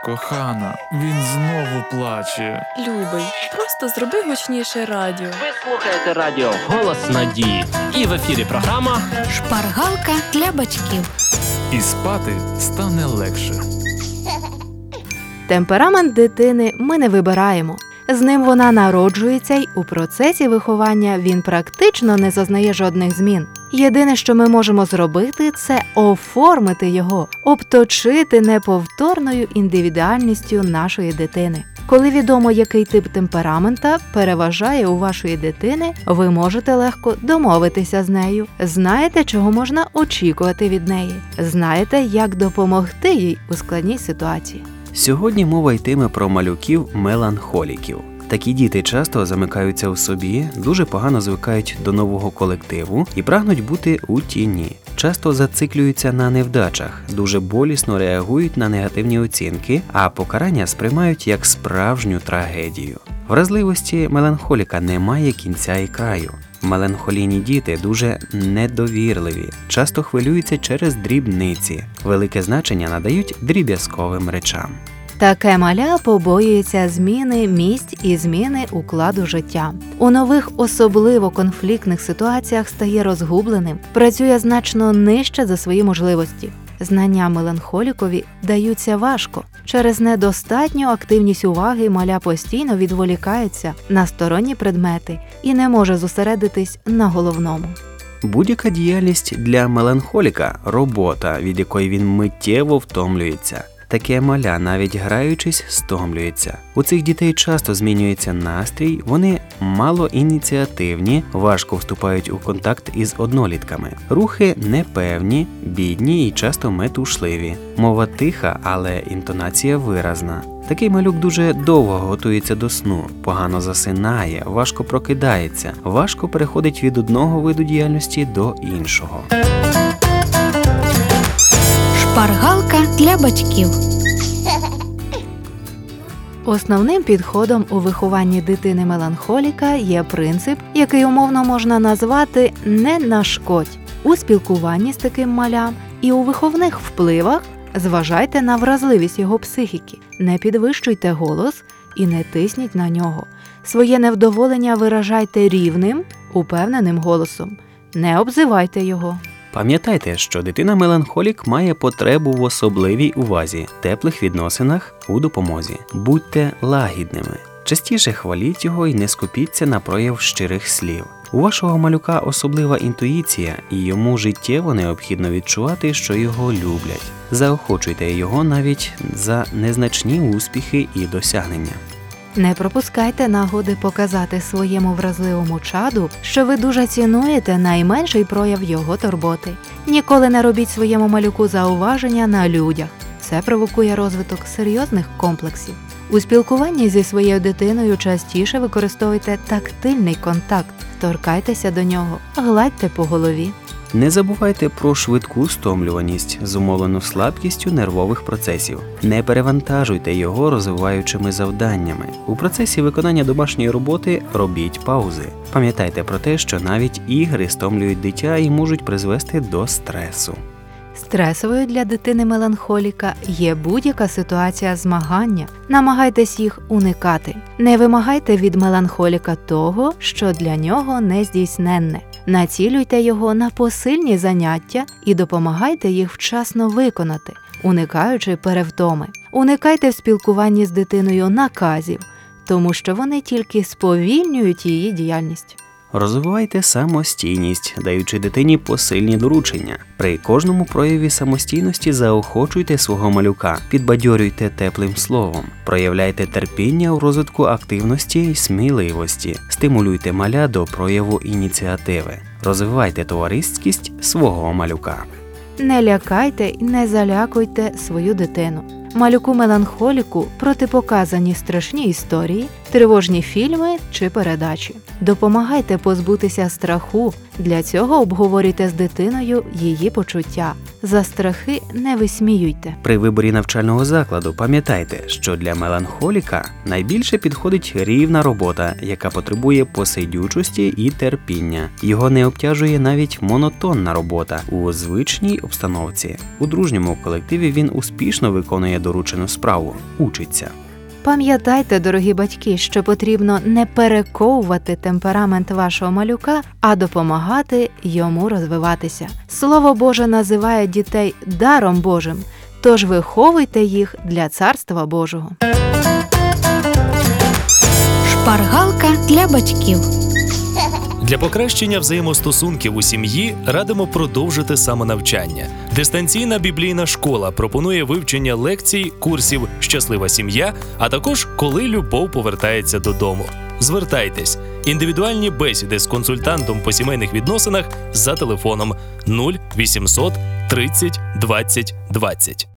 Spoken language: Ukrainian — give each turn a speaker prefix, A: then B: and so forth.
A: Кохана, він знову плаче.
B: Любий, просто зроби гучніше радіо.
C: Ви слухаєте радіо «Голос надії». І в ефірі програма
D: «Шпаргалка для батьків».
A: І спати стане легше.
E: Темперамент дитини ми не вибираємо. З ним вона народжується й у процесі виховання він практично не зазнає жодних змін. Єдине, що ми можемо зробити, це оформити його, обточити неповторною індивідуальністю нашої дитини. Коли відомо, який тип темперамента переважає у вашої дитини, ви можете легко домовитися з нею. Знаєте, чого можна очікувати від неї. Знаєте, як допомогти їй у складній ситуації.
F: Сьогодні мова йтиме про малюків-меланхоліків. Такі діти часто замикаються у собі, дуже погано звикають до нового колективу і прагнуть бути у тіні. Часто зациклюються на невдачах, дуже болісно реагують на негативні оцінки, а покарання сприймають як справжню трагедію. Вразливості меланхоліка немає кінця і краю. Меланхолійні діти дуже недовірливі, часто хвилюються через дрібниці, велике значення надають дріб'язковим речам.
E: Таке маля побоюється зміни місць і зміни укладу життя. У нових, особливо конфліктних ситуаціях стає розгубленим, працює значно нижче за свої можливості. Знання меланхолікові даються важко. Через недостатню активність уваги маля постійно відволікається на сторонні предмети і не може зосередитись на головному.
F: Будь-яка діяльність для меланхоліка – робота, від якої він миттєво втомлюється. Таке маля, навіть граючись, стомлюється. У цих дітей часто змінюється настрій, вони малоініціативні, важко вступають у контакт із однолітками. Рухи непевні, бідні і часто метушливі. Мова тиха, але інтонація виразна. Такий малюк дуже довго готується до сну, погано засинає, важко прокидається, важко переходить від одного виду діяльності до іншого.
D: Шпаргалка для батьків.
E: Основним підходом у вихованні дитини-меланхоліка є принцип, який умовно можна назвати «не нашкодь». У спілкуванні з таким малям і у виховних впливах зважайте на вразливість його психіки, не підвищуйте голос і не тисніть на нього. Своє невдоволення виражайте рівним, упевненим голосом, не обзивайте його.
F: Пам'ятайте, що дитина-меланхолік має потребу в особливій увазі, теплих відносинах, у допомозі. Будьте лагідними. Частіше хваліть його і не скупіться на прояв щирих слів. У вашого малюка особлива інтуїція, і йому життєво необхідно відчувати, що його люблять. Заохочуйте його навіть за незначні успіхи і досягнення.
E: Не пропускайте нагоди показати своєму вразливому чаду, що ви дуже цінуєте найменший прояв його турботи. Ніколи не робіть своєму малюку зауваження на людях. Це провокує розвиток серйозних комплексів. У спілкуванні зі своєю дитиною частіше використовуйте тактильний контакт. Торкайтеся до нього, гладьте по голові.
F: Не забувайте про швидку стомлюваність, зумовлену слабкістю нервових процесів. Не перевантажуйте його розвиваючими завданнями. У процесі виконання домашньої роботи робіть паузи. Пам'ятайте про те, що навіть ігри стомлюють дитя і можуть призвести до стресу.
E: Стресовою для дитини-меланхоліка є будь-яка ситуація змагання. Намагайтесь їх уникати. Не вимагайте від меланхоліка того, що для нього нездійсненне. Націлюйте його на посильні заняття і допомагайте їх вчасно виконати, уникаючи перевтоми. Уникайте в спілкуванні з дитиною наказів, тому що вони тільки сповільнюють її діяльність.
F: Розвивайте самостійність, даючи дитині посильні доручення. При кожному прояві самостійності заохочуйте свого малюка, підбадьорюйте теплим словом, проявляйте терпіння у розвитку активності і сміливості, стимулюйте маля до прояву ініціативи, розвивайте товариськість свого малюка.
E: Не лякайте і не залякуйте свою дитину. Малюку-меланхоліку протипоказані страшні історії тривожні фільми чи передачі. Допомагайте позбутися страху. Для цього обговорюйте з дитиною її почуття. За страхи не висміюйте.
F: При виборі навчального закладу пам'ятайте, що для меланхоліка найбільше підходить рівна робота, яка потребує посидючості і терпіння. Його не обтяжує навіть монотонна робота у звичній обстановці. У дружньому колективі він успішно виконує доручену справу, учиться.
E: Пам'ятайте, дорогі батьки, що потрібно не перековувати темперамент вашого малюка, а допомагати йому розвиватися. Слово Боже називає дітей даром Божим, тож виховуйте їх для Царства Божого.
D: Шпаргалка для батьків.
G: Для покращення взаємостосунків у сім'ї радимо продовжити самонавчання. Дистанційна біблійна школа пропонує вивчення лекцій, курсів «Щаслива сім'я», а також «Коли любов повертається додому». Звертайтесь. Індивідуальні бесіди з консультантом по сімейних відносинах за телефоном 0800 30 20 20.